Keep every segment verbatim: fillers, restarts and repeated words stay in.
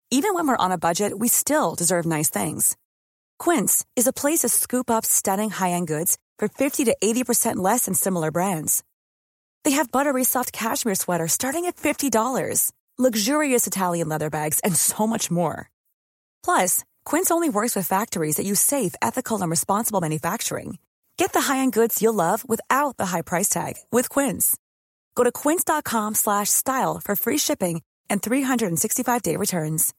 Even when we're on a budget, we still deserve nice things. Quince is a place to scoop up stunning high-end goods for fifty to eighty percent less than similar brands. They have buttery soft cashmere sweaters starting at fifty dollars, luxurious Italian leather bags, and so much more. Plus, Quince only works with factories that use safe, ethical, and responsible manufacturing. Get the high-end goods you'll love without the high price tag with Quince. Go to quince.com slash style for free shipping and three sixty-five day returns.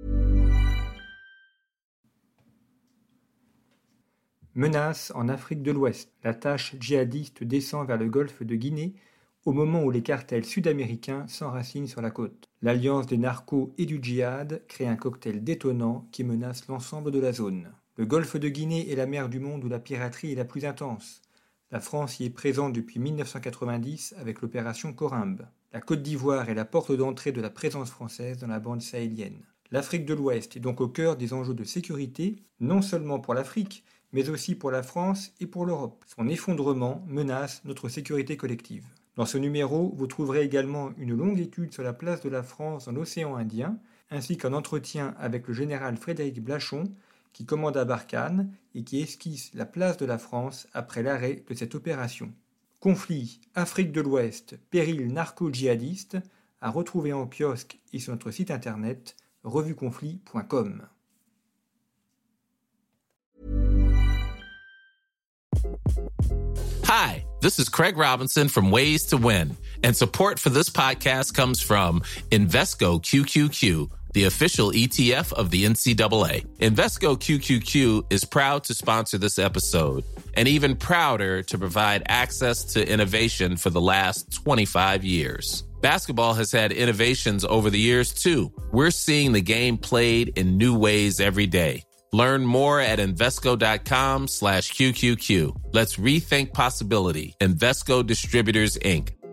Menace en Afrique de l'Ouest. La tâche djihadiste descend vers le golfe de Guinée au moment où les cartels sud-américains s'enracinent sur la côte. L'alliance des narcos et du djihad crée un cocktail détonnant qui menace l'ensemble de la zone. Le golfe de Guinée est la mer du monde où la piraterie est la plus intense. La France y est présente depuis mille neuf cent quatre-vingt-dix avec l'opération Corymbe. La Côte d'Ivoire est la porte d'entrée de la présence française dans la bande sahélienne. L'Afrique de l'Ouest est donc au cœur des enjeux de sécurité, non seulement pour l'Afrique, mais aussi pour la France et pour l'Europe. Son effondrement menace notre sécurité collective. Dans ce numéro, vous trouverez également une longue étude sur la place de la France dans l'océan Indien, ainsi qu'un entretien avec le général Frédéric Blachon, qui commande à Barkhane et qui esquisse la place de la France après l'arrêt de cette opération. Conflit, Afrique de l'Ouest, péril narco-djihadiste, à retrouver en kiosque et sur notre site internet revue conflit point com. Hi, this is Craig Robinson from Ways to Win, and support for this podcast comes from Invesco Q Q Q, the official E T F of the N C double A. Invesco Q Q Q is proud to sponsor this episode, and even prouder to provide access to innovation for the last twenty-five years. Basketball has had innovations over the years, too. We're seeing the game played in new ways every day. Learn more at Invesco.com slash QQQ. Let's rethink possibility. Invesco Distributors, Incorporated.